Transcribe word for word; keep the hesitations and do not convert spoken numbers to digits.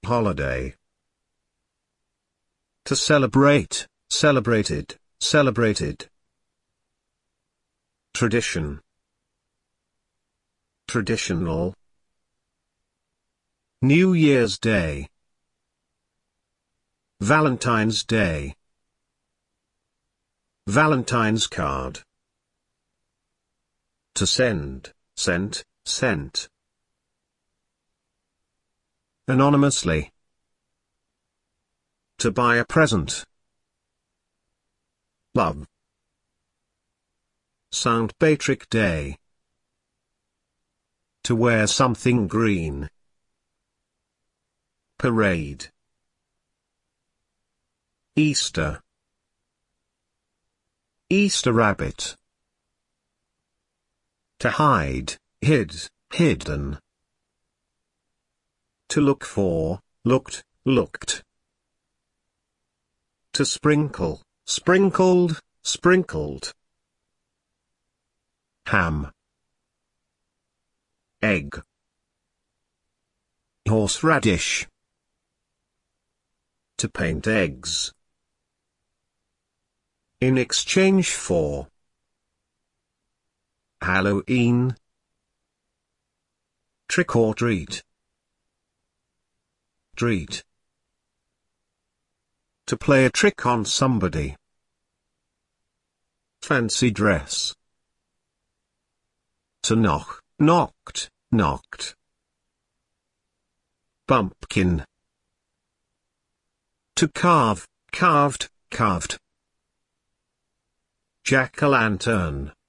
holiday. To celebrate, celebrated, celebrated. Tradition. Traditional. New Year's Day. Valentine's Day. Valentine's card. To send, sent, sent. Anonymously. To buy a present. Love. Saint Patrick Day. To wear something green. Parade. Easter. Easter rabbit. To hide, hid, hidden. To look for, looked, looked. To sprinkle, sprinkled, sprinkled. Ham. Egg. Horseradish. To paint eggs. In exchange for. Halloween. Trick or treat. Treat. To play a trick on somebody. Fancy dress. To knock, knocked, knocked. Pumpkin. To carve, carved, carved. Jack-o'-lantern.